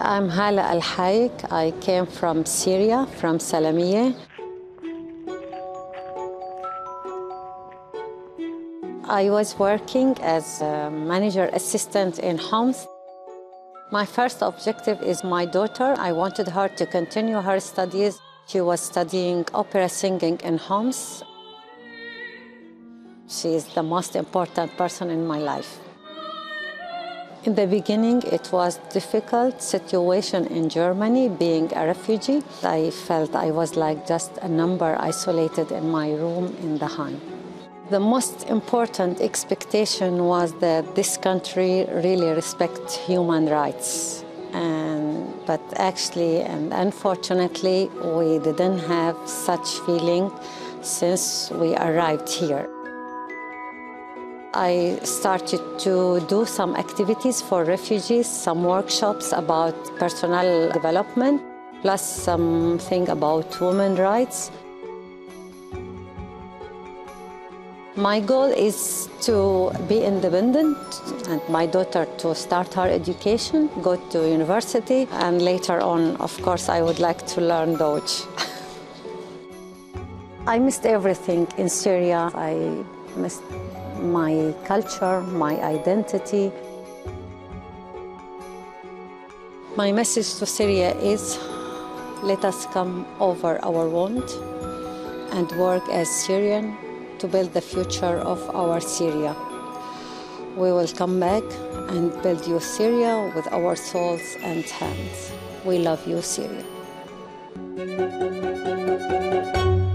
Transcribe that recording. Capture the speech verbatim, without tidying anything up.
I'm Hala Al Haik. I came from Syria, from Salamiyeh. I was working as a manager assistant in Homs. My first objective is my daughter. I wanted her to continue her studies. She was studying opera singing in Homs. She is the most important person in my life. In the beginning, it was a difficult situation in Germany, being a refugee. I felt I was like just a number isolated in my room in the Heim. The most important expectation was that this country really respects human rights. And, but actually, and unfortunately, we didn't have such feeling since we arrived here. I started to do some activities for refugees, some workshops about personal development, plus something about women's rights. My goal is to be independent and my daughter to start her education, go to university, and later on, of course, I would like to learn Deutsch. I missed everything in Syria. I missed my culture, my identity. My message to Syria is, let us come over our wound and work as Syrian to build the future of our Syria. We will come back and build you Syria with our souls and hands. We love you, Syria.